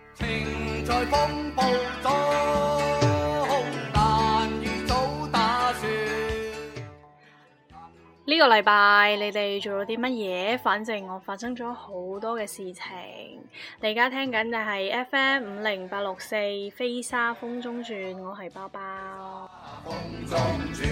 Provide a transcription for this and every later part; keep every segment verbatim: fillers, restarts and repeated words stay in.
情在風暴中難預早打算。 呢個禮拜你哋做咗啲乜嘢？反正我發生咗好多嘅事情。你而家聽緊嘅係 F M 五零八六四飛沙風中轉，我係包包。風中轉，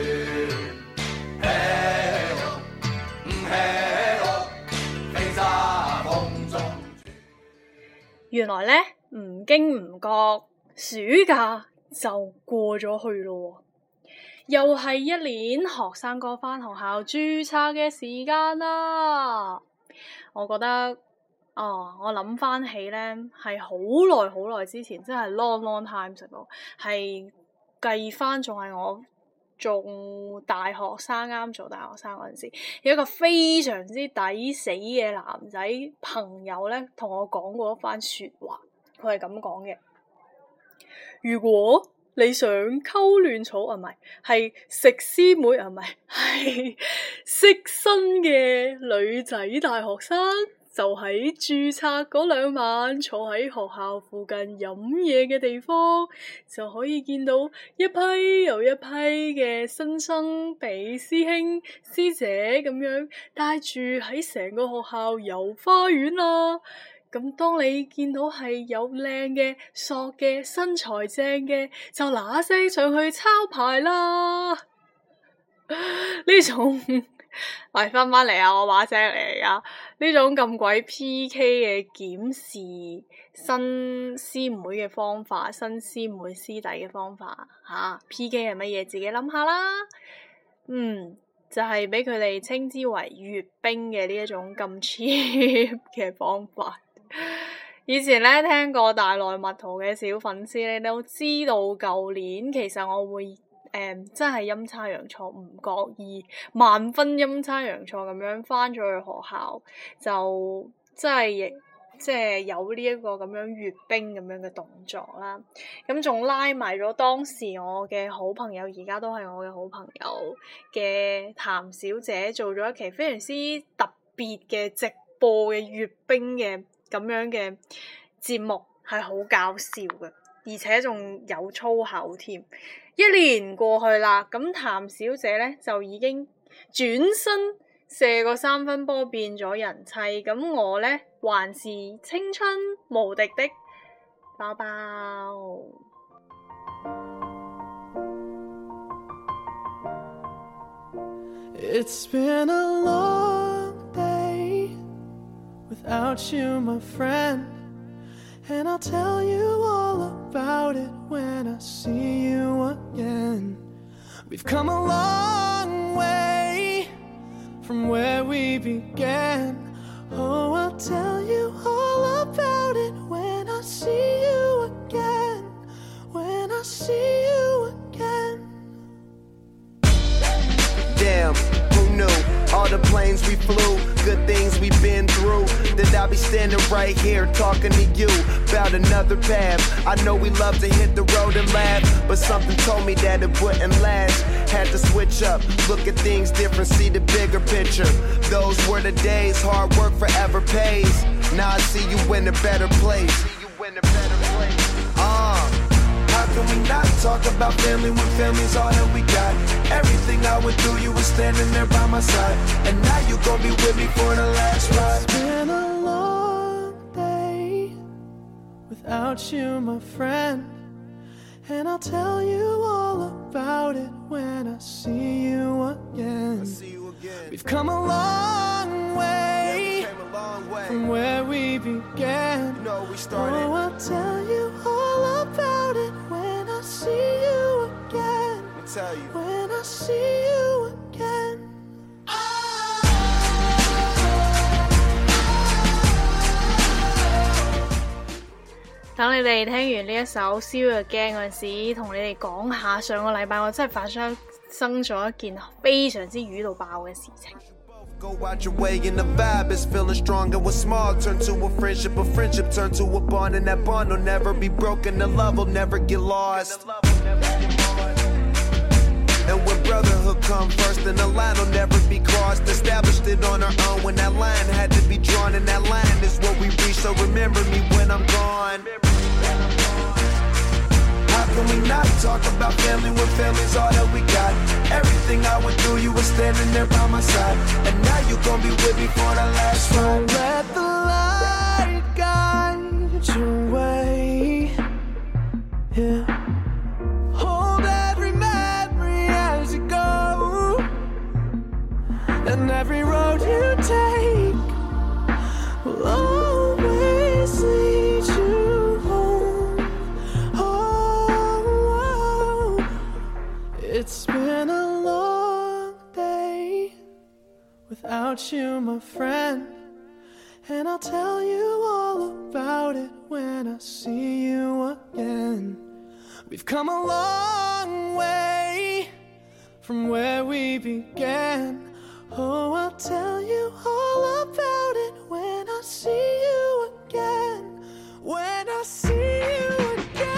飛沙風中轉。原來呢，唔經唔覺，暑假就過咗去咯。又係一年學生哥返學校註冊嘅時間啦。我覺得，哦，我諗翻起呢，係好耐好耐之前，真係 long long time 食咯。係計翻仲係我做大學生，啱做大學生嗰陣時，有一個非常之抵死嘅男仔朋友呢，同我講過一番說話。佢係咁講嘅：如果你想溝嫩草啊，唔係，係食師妹啊，唔係，係識新嘅女仔大學生，就喺註冊嗰兩晚坐喺學校附近飲嘢嘅地方，就可以見到一批又一批嘅新生俾師兄師姐咁樣帶住喺成個學校遊花園啦。咁當你見到係有靚嘅、索嘅、身材正嘅，就嗱嗱聲上去抄牌啦！呢種，嚟翻翻嚟啊！我把聲嚟噶，呢種咁鬼 P K 嘅檢視新師妹嘅方法，新師妹師弟嘅方法吓、啊、P K 係乜嘢？自己諗下啦。嗯，就係俾佢哋稱之為閱兵嘅呢一種咁 cheap 嘅方法。以前咧聽過大內密圖嘅小粉絲咧都知道，舊年其實我會誒、嗯、真係陰差陽錯，唔覺意萬分陰差陽錯咁樣返咗去學校，就真係即係有呢一個咁樣閱兵咁樣嘅動作啦。咁仲拉埋咗當時我嘅好朋友，而家都係我嘅好朋友嘅譚小姐，做咗一期非常之特別嘅直播嘅閱兵嘅咁樣嘅節目，係好搞笑嘅，而且仲有粗口添。一年過去啦，咁譚小姐呢就已經轉身射個三分波變咗人妻，咁我呢還是青春無敵的包包。 It's been a long day without you, my friend, and I'll tell you all about it when I see you again. We've come a long way from where we began. Oh, I'll tell you all about it when I see you again, when I see you again. Damn, who knew? All the planes we flew, good things we've been through, that I'll be standing right here talking to you about another path. I know we love to hit the road and laugh, but something told me that it wouldn't last. Had to switch up, look at things different, see the bigger picture. Those were the days, hard work forever pays. Now I see you in a better place. See you in a better place. Uh, how can we not talk about family when family's all that we got? Everything I went through, you were standing there by my side, and now you gon' be with me for the last ride. It's been a long day without you, my friend, and I'll tell you all about it when I see you again. I see you again. We've come a long way, yeah, we came a long way from where we began. You know we started. Oh, I'll tell you all about it when I see you again. Let me tell you. When I see you again. Oh. 等你哋聽完呢一首《See You Again》嗰陣時，同你哋講下上個禮拜我真係發生生咗一件非常之瘀到爆嘅事情。 Go out your way and the vibe is feeling strong, and what's small turn to a friendship, a friendship turn to a bond, and that bond will never be broken, the love will never get lost. And when brotherhood come first, then the line will never be crossed. Established it on our own when that line had to be drawn, and that line is what we reach. So remember me when I'm gone. talk about family when family's all that we got. Everything I went through, you were standing there by my side. And now you gon' be with me for the last ride. Don't let the light guide your way. Yeah. Hold every memory as you go. And every road you take will always lead you home. Oh, it's been a long day without you, my friend. And I'll tell you all about it when I see you again. We've come a long way from where we began. Oh, I'll tell you all about it when I see you again. When I see you again.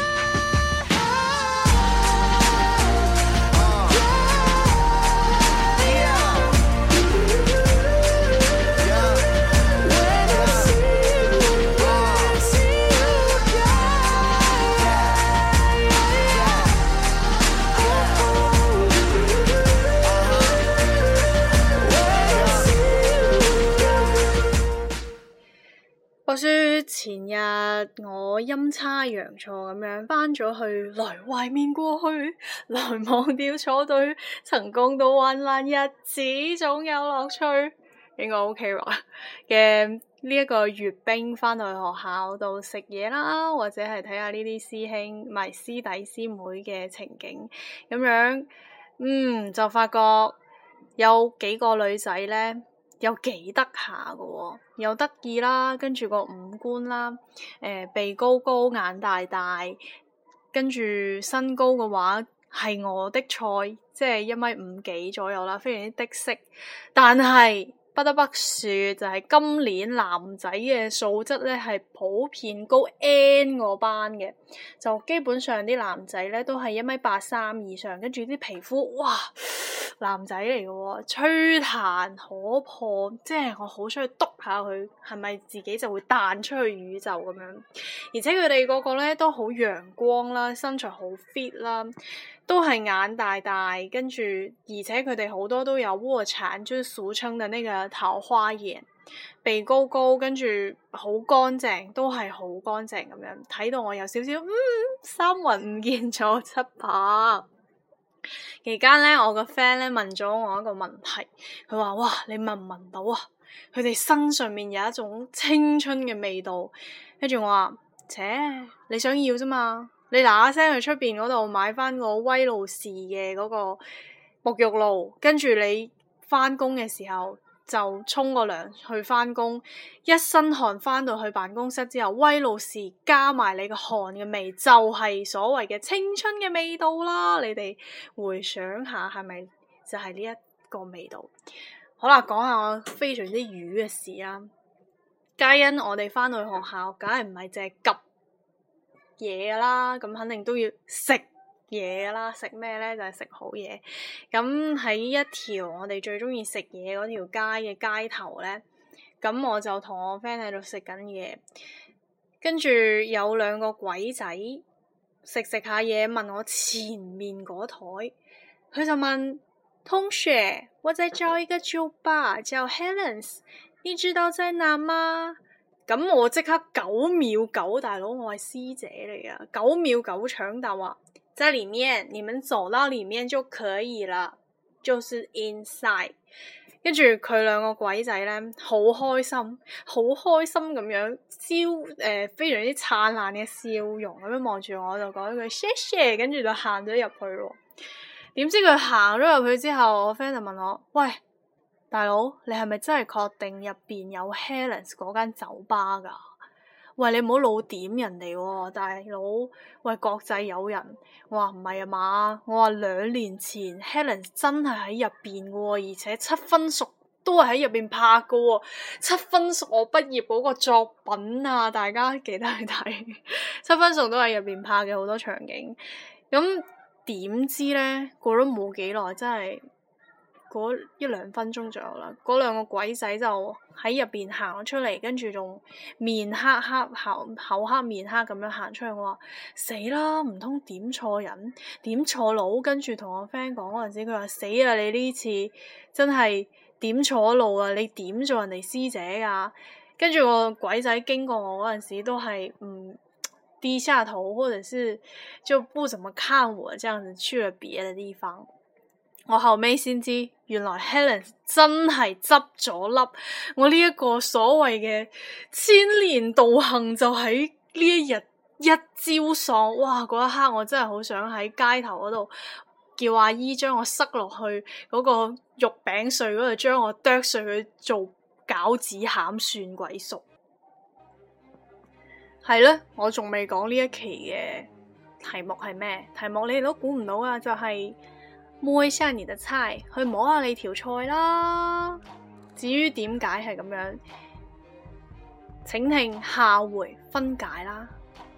話說前日我陰差陽錯咁樣返咗去，來懷緬過去，來忘掉錯對，曾共度患難日子總有樂趣，應該 OK 吧嘅呢一個閱兵返到去學校度食嘢啦，或者係睇下呢啲師兄唔係師弟師妹嘅情景咁樣，嗯就發覺有幾個女仔咧有幾得下㗎喎，又得意啦，跟住個五官啦，誒、呃、鼻高高眼大大，跟住身高嘅話係我的菜，即係一米五幾左右啦，非常之的色。但係不得不說，就係、是、今年男仔嘅素質咧係普遍高 N 個班嘅，就基本上啲男仔咧都係一米八三以上，跟住啲皮膚哇〜男仔嚟嘅喎，吹彈可破，即係我好想去篤下佢，係咪自己就會彈出去宇宙咁樣？而且佢哋個個咧都好陽光啦，身材好 fit 啦，都係眼大大，跟住而且佢哋好多都有臥蠶，就是俗稱嘅那個桃花眼，鼻高高，跟住好乾淨，都係好乾淨咁樣，睇到我有少少嗯三魂唔見咗七魄。期間咧，我個 friend 咧問咗我一個問題，佢話：哇，你聞唔聞到啊？佢哋身上面有一種青春嘅味道。跟住我話：切，你想要啫嘛？你嗱嗱聲去出邊嗰度買翻個威露士嘅嗰個沐浴露，跟住你翻工嘅時候就沖個涼去翻工，一身汗翻到去辦公室之後，威露士加埋你個汗嘅味，就係所謂嘅青春嘅味道啦。你哋回想下，係咪就係呢一個味道？好啦，講下我非常之瘀嘅事啦。皆因我哋翻到去學校，梗係唔係淨係急嘢啦，咁肯定都要食嘢啦，食咩咧？就係、是、食好嘢。咁喺一條我哋最中意食嘢嗰條街嘅街頭咧，咁我就同我 friend 喺度食緊嘢，跟住有兩個鬼仔食食下嘢，問我前面嗰台，佢就問同學，我在找一個酒吧，叫 Helen's， 你知道在哪嗎？咁我即刻九秒九，大佬我係師姐嚟噶，九秒九搶答話。在裡面，你們走到裡面就可以了，就是 inside。跟住佢兩個鬼仔咧，好開心，好開心咁樣，笑誒、呃、非常之燦爛嘅笑容咁樣望住我，就講一句謝謝，跟住就行咗入去咯。點知佢行咗入去之後，我 friend 就問我：喂，大佬，你係咪真係確定入邊有 Helen's 嗰間酒吧㗎？喂，你唔好老點人哋喎，大佬！喂，國際友人，我話唔係啊嘛，我話兩年前 Helen 真係喺入邊嘅喎，而且七分熟都係喺入邊拍嘅喎，七分熟我畢業嗰個作品啊，大家記得去睇，七分熟都係入邊拍嘅好多場景。咁點知咧，過咗冇幾耐，真係嗰一兩分鐘左右啦，嗰兩個鬼仔就喺入邊行咗出嚟，跟住仲面黑黑口口黑面黑咁樣行出去。我話死啦，唔通點錯人點錯路？跟住同我 friend 講嗰陣時，佢話死啦，你呢次真係點錯路啊！你點做人哋師姐噶？跟住個鬼仔經過我嗰陣時都係唔低下頭，或者是就不怎麼看我，這樣子去了別的地方。我後尾先知，原來 Helen 真係執咗粒，我呢一個所謂嘅千年道行就喺呢一日一朝喪。哇！嗰一刻我真係好想喺街頭嗰度叫阿姨將我塞落去嗰個肉餅碎嗰度，將我剁碎佢做餃子餡蒜鬼熟。係咧，我仲未講呢一期嘅題目係咩？題目你哋都估唔到啊，就係、是、摸一下你的菜，去摸下你條菜啦。至於點解係咁樣，請聽下回分解啦。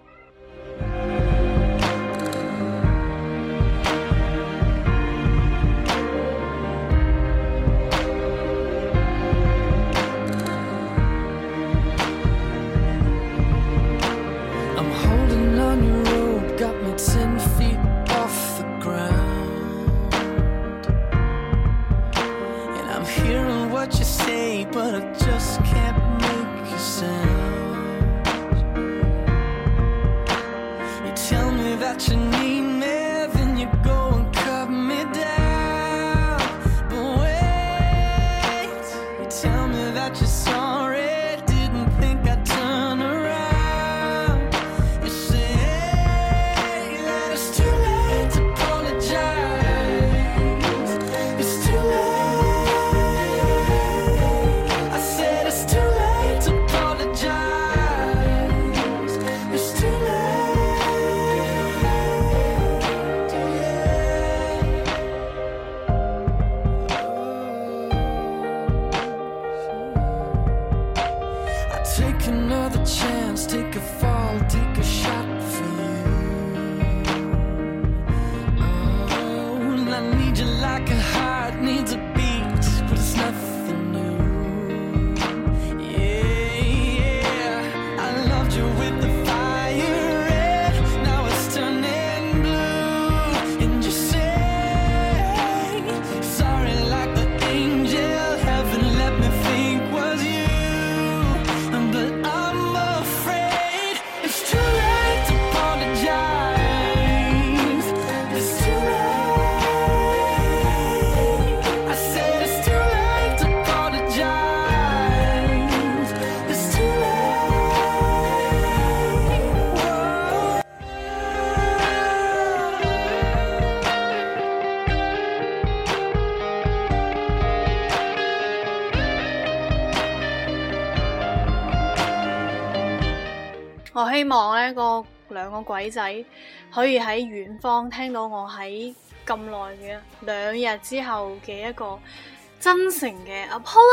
我希望呢個兩個鬼仔可以喺遠方聽到我喺咁耐嘅兩日之後嘅一個真誠嘅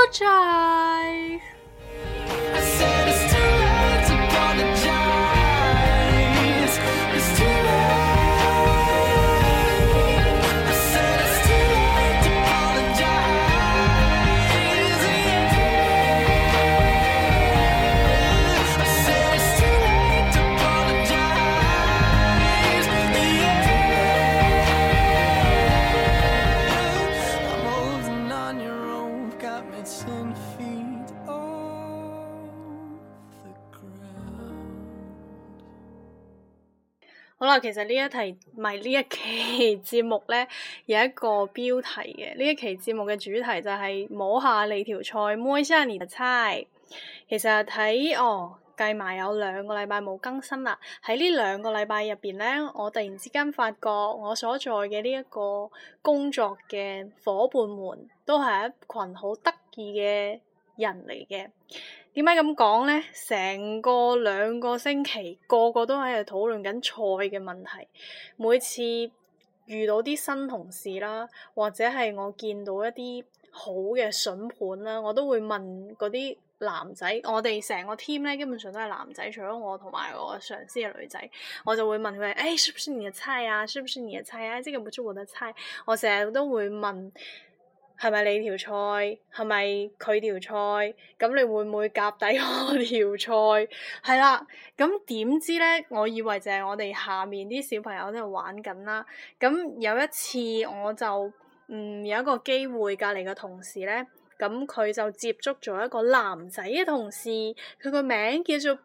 apologize。好啦，其實呢一題唔係呢一期節目呢，有一個標題嘅。呢一期節目嘅主題就係摸下你條菜，摸一下你的菜。其實睇哦計埋有兩個禮拜冇更新啦。喺呢兩個禮拜入邊呢，我突然之間發覺我所在嘅呢一個工作嘅夥伴們都係一群好得意嘅人嚟嘅。點解咁講呢？成個兩個星期，個個都喺度討論緊菜嘅問題。每次遇到啲新同事啦，或者係我見到一啲好嘅筍盤啦，我都會問嗰啲男仔。我哋成個 team 咧，基本上都係男仔，除咗我同埋我上司嘅女仔，我就會問佢：誒、哎，是不是你嘅菜啊？是不是你嘅菜啊？這個不是我的菜。我成日都會問係咪你條菜？係咪佢條菜？咁你會唔會夾底我條菜？係啦，咁點知咧？我以為就係我哋下面啲小朋友喺度玩緊啦。咁有一次我就嗯有一個機會，隔離嘅同事咧，咁佢就接觸咗一個男仔嘅同事，佢個名叫做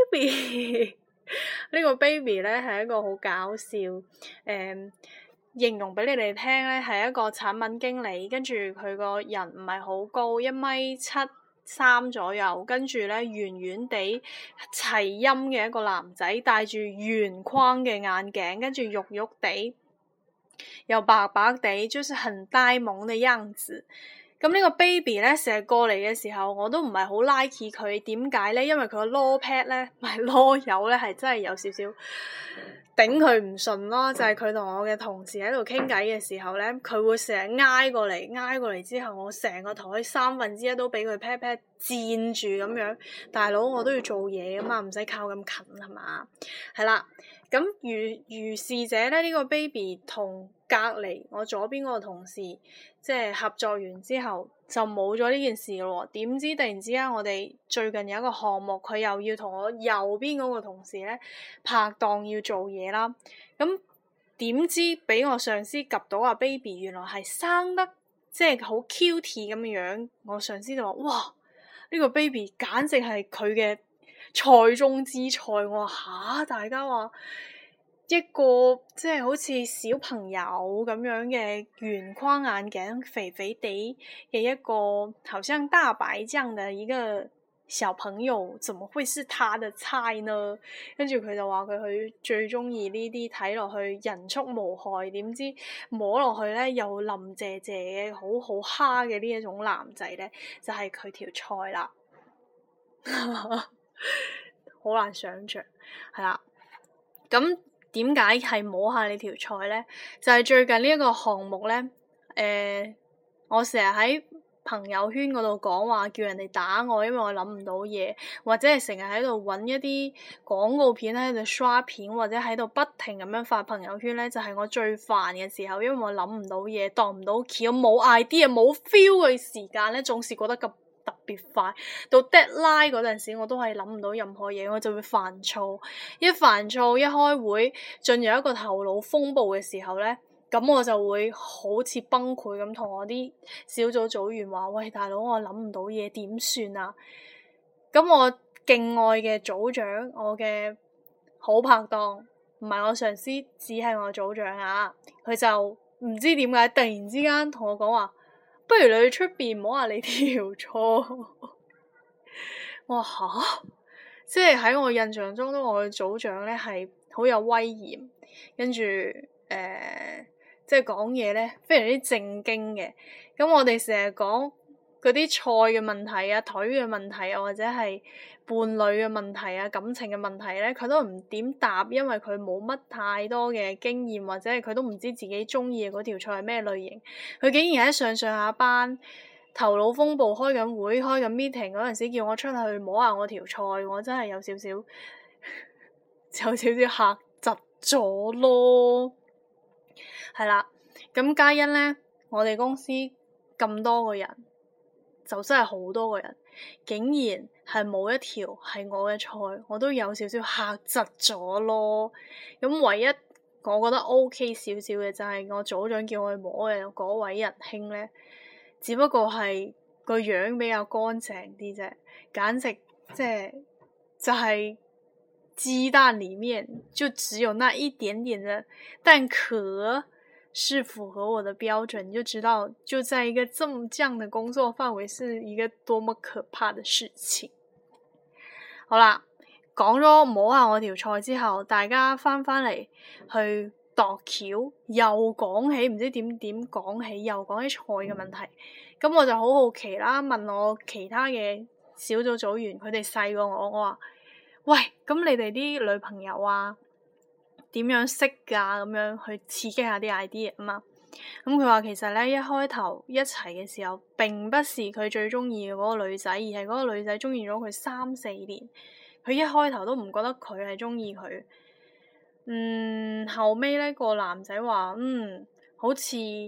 Baby。呢個 Baby 咧係一個好搞笑誒。嗯形容俾你哋聽咧，係一個產品經理，跟住佢個人唔係好高，一米七三左右，跟住咧圓圓地齊陰嘅一個男仔，戴住圓框嘅眼鏡，跟住肉肉地又白白地，就是很呆萌嘅樣子。咁呢個 baby 咧成日過嚟嘅時候，我都唔係好 like 佢，點解咧？因為佢個囉 pad 咧，唔係囉柚咧，係真係有少少頂佢唔順咯。就係佢同我嘅同事喺度傾偈嘅時候咧，佢會成日挨過嚟，挨過嚟之後，我成個台三分之一都俾佢 pat pat 佔住咁樣。大佬我都要做嘢噶嘛，唔使靠咁近係嘛？係啦，咁如如是者咧，呢個 baby 同隔離我左邊嗰個同事即係合作完之後就冇咗呢件事咯。點知突然之間我哋最近有一個項目，佢又要同我右邊嗰個同事咧拍檔要做嘢啦。咁點知俾我上司及到阿 baby 原來係生得即係好 cute 咁樣，我上司就話：哇！呢個 baby 簡直係佢嘅菜中之菜。我話吓，大家話一個即係好似小朋友咁樣嘅圓框眼鏡，肥肥地嘅一個好像大白醬嘅一個小朋友，怎麼會是他的菜呢？跟住佢就話佢佢最中意呢啲睇落去人畜無害，點知摸落去咧又腍謝謝嘅好好蝦嘅呢一種男仔咧，就係佢條菜啦。好難想像，係啦，咁。點解係摸下你條菜咧？就係、是、最近呢一個項目咧，誒、呃，我成日喺朋友圈嗰度講話，叫人哋打我，因為我諗唔到嘢，或者係成日喺度揾一啲廣告片喺度刷片，或者喺度不停咁樣發朋友圈咧，就係、是、我最煩嘅時候，因為我諗唔到嘢，當唔到橋，冇 idea，冇 feel 嘅時間咧，總是覺得咁特別快，到 deadline 嗰陣時，我都係諗唔到任何嘢，我就會煩躁。一煩躁，一開會進入一個頭腦風暴嘅時候咧，咁我就會好似崩潰咁，同我啲小組組員話：喂，大佬，我諗唔到嘢，點算啊？咁我敬愛嘅組長，我嘅好拍檔，唔係我上司，只係我組長啊！佢就唔知點解突然之間同我講話。不如你去出邊摸下你條菜。我話吓，即係喺我印象中，都我嘅組長咧係好有威嚴，跟住誒，即係講嘢咧非常之正經嘅。咁我哋成日講嗰啲菜嘅問題啊、腿嘅問題啊，或者係伴侶嘅問題啊、感情嘅問題咧，佢都唔點答，因為佢冇乜太多嘅經驗，或者係佢都唔知自己中意嘅嗰條菜係咩類型。佢竟然喺上上下班頭腦風暴開緊會、開緊 meeting 嗰陣時，叫我出去摸下我條菜，我真係有少少有少少嚇窒咗咯。係啦，咁嘉欣咧，我哋公司咁多個人，就真係好多個人，竟然係冇一條係我嘅菜，我都有少少嚇窒咗咯。咁唯一我覺得 OK 少少嘅就係我組長叫我去摸嘅嗰位仁兄咧，只不過係個樣比較乾淨啲啫，簡直即係就係雞蛋裡面就只有那一點點的蛋殼是符合我的標準，你就知道就在一個這麼這樣的工作範圍是一個多麼可怕的事情。好啦，講咗摸下我條菜之後，大家翻返嚟去度橋，又講起唔知點點講起，又講起菜嘅問題。咁我就好好奇啦，問我其他嘅小組組員，佢哋細過我，我話：喂，咁你哋啲女朋友啊？點樣識㗎？咁樣去刺激下啲 idea 啊嘛。咁佢話其實咧，一開頭一齊嘅時候並不是佢最中意嘅嗰個女仔，而係嗰個女仔中意咗佢三四年，佢一開頭都唔覺得佢係中意佢。嗯，後尾咧個男仔話：嗯，好似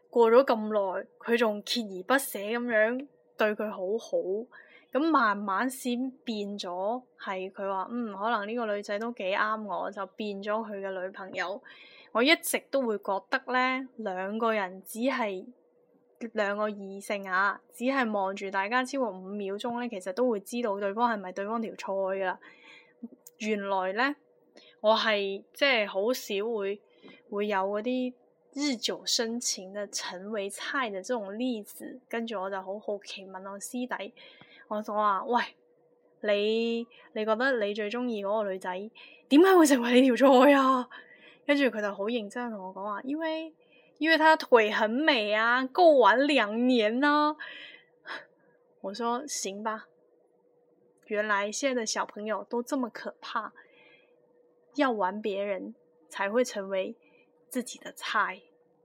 過咗咁耐，佢仲鍥而不捨咁樣對佢好好，咁慢慢先變咗係佢話嗯，可能呢個女仔都幾啱我，就變咗佢嘅女朋友。我一直都會覺得呢，兩個人只係兩個異性啊，只係望住大家超過五秒鐘呢，其實都會知道對方係咪對方條菜噶啦。原來呢，我係即係好少會會有嗰啲日久生情嘅成為菜嘅這種例子。跟住我就好好奇問我師弟，我就話喂，你你覺得你最中意嗰個女仔點解會成為你條菜啊？跟住佢就好認真同我講話，因為因為她腿很美啊，夠玩兩年啊。我說行吧，原來現在的小朋友都這麼可怕，要玩別人才會成為自己的菜。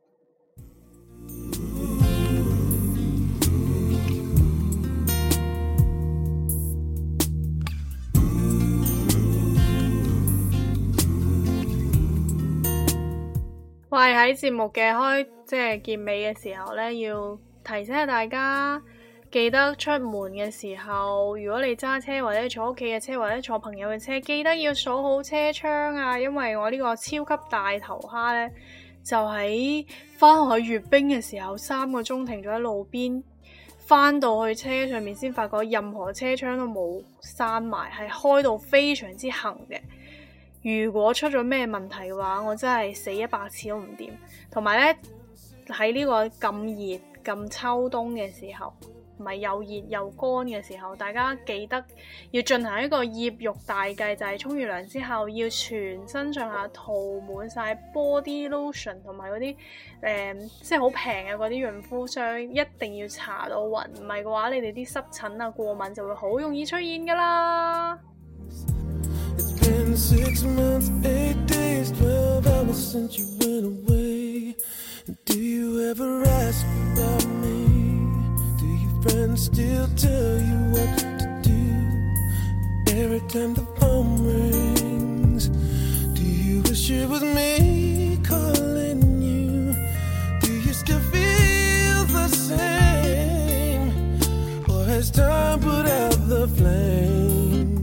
我係喺節目嘅開即係結尾嘅時候呢，要提醒下大家，記得出門嘅時候，如果你揸車或者坐屋企嘅車或者坐朋友嘅車，記得要鎖好車窗啊！因為我呢個超級大頭蝦呢，就喺返學去閱兵嘅時候，三個鐘停咗喺路邊，返到去車上面先發覺任何車窗都冇閂埋，係開到非常之行嘅。如果出咗咩問題嘅話，我真係死一百次都唔掂。同埋呢，喺呢個咁熱咁秋冬嘅時候，唔係又熱又乾嘅時候，大家記得要進行一個醃浴大計，就係沖完涼之後要全身上下塗滿晒 body lotion 同埋嗰啲誒，即係好平嘅嗰啲潤膚霜，一定要搽到勻，唔係嘅話，你哋啲濕疹啊過敏就會好容易出現噶啦。 It's been six months, eight days, twelve hours since you went away. Do you ever ask about me? Do your friends still tell you what to do? Every time the phone rings, do you wish it was me calling you? Do you still feel the same? Or has time put out the flame?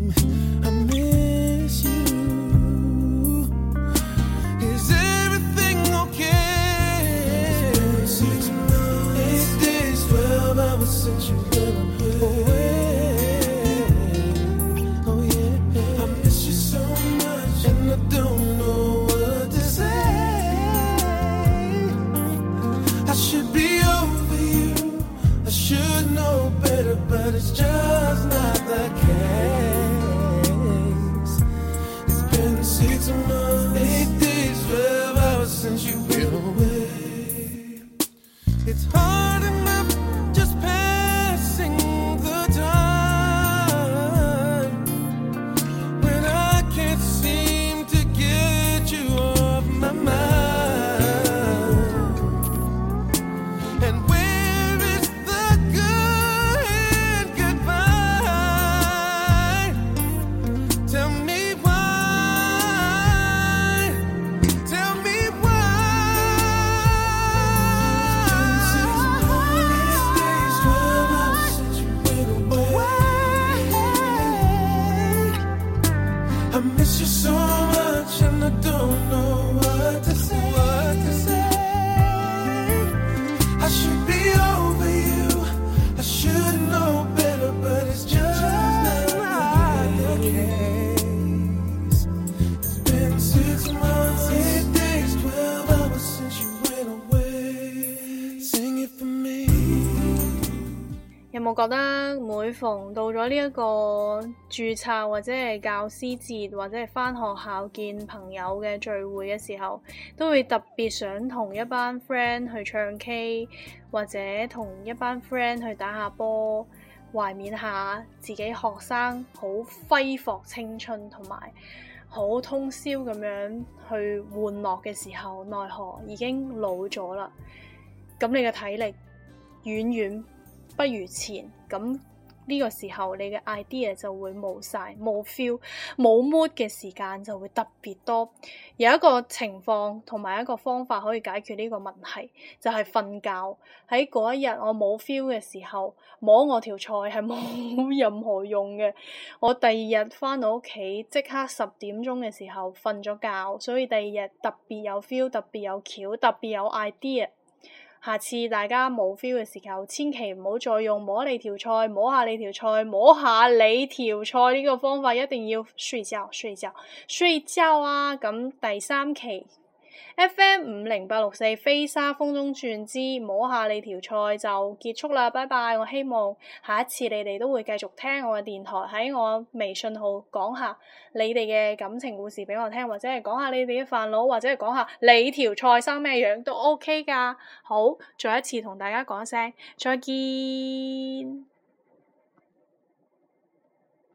有冇覺得每逢到咗呢一個註冊或者係教師節或者係返學校見朋友嘅聚會嘅時候，都會特別想同一班 friend 去唱 K， 或者同一班 friend 去打下波，懷緬下自己學生好揮霍青春同埋好通宵咁樣去玩樂嘅時候，奈何已經老咗啦。咁你嘅體力遠遠不如前，咁呢呢個時候你嘅 idea 就會冇晒，冇 feel， 冇 mood 嘅時間就會特別多。有一個情況同埋一個方法可以解決呢個問題，就係瞓覺。喺嗰一日我冇 feel 嘅時候，摸我條菜係冇任何用嘅。我第二日翻到屋企即刻十點鐘嘅時候瞓咗覺，所以第二日特別有 feel， 特別有橋，特別有 idea。下次大家冇 feel 嘅時候，千祈唔好再用摸你條菜，摸下你條菜，摸下你條菜呢個方法，一定要睡覺睡覺睡覺啊！咁第三期 F M 五零八六四飛沙風中轉之摸下你條菜就結束啦，拜拜！我希望下一次你哋都會繼續聽我嘅電台，喺我微信號講下你哋嘅感情故事俾我聽，或者係講下你哋嘅煩惱，或者係講下你條菜生咩樣都 OK 噶。好，再一次同大家講一聲再見。